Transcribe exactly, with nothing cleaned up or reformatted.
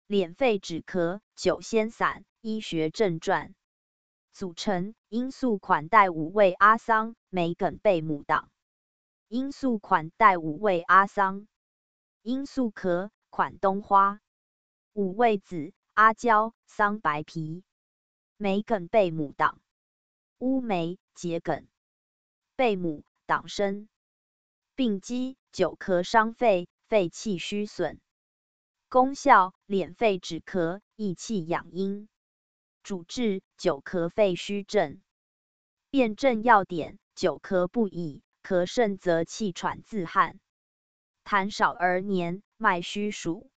祬肺止咳、酒仙散、醫學正傳。組成：罌粟款待五味阿桑、梅梗貝母黨。罌粟款待五味阿桑。罌粟殼、款冬花。五味子：阿膠、桑白皮。梅梗貝母黨。烏梅、桔梗。貝母、黨參。病機：久咳傷肺，肺氣虛損。功效：祬肺止咳，益氣養陰。主治：久咳肺虛症。辨證要點：久咳不已，咳甚則氣喘自汗，痰少而黏，脈虛數。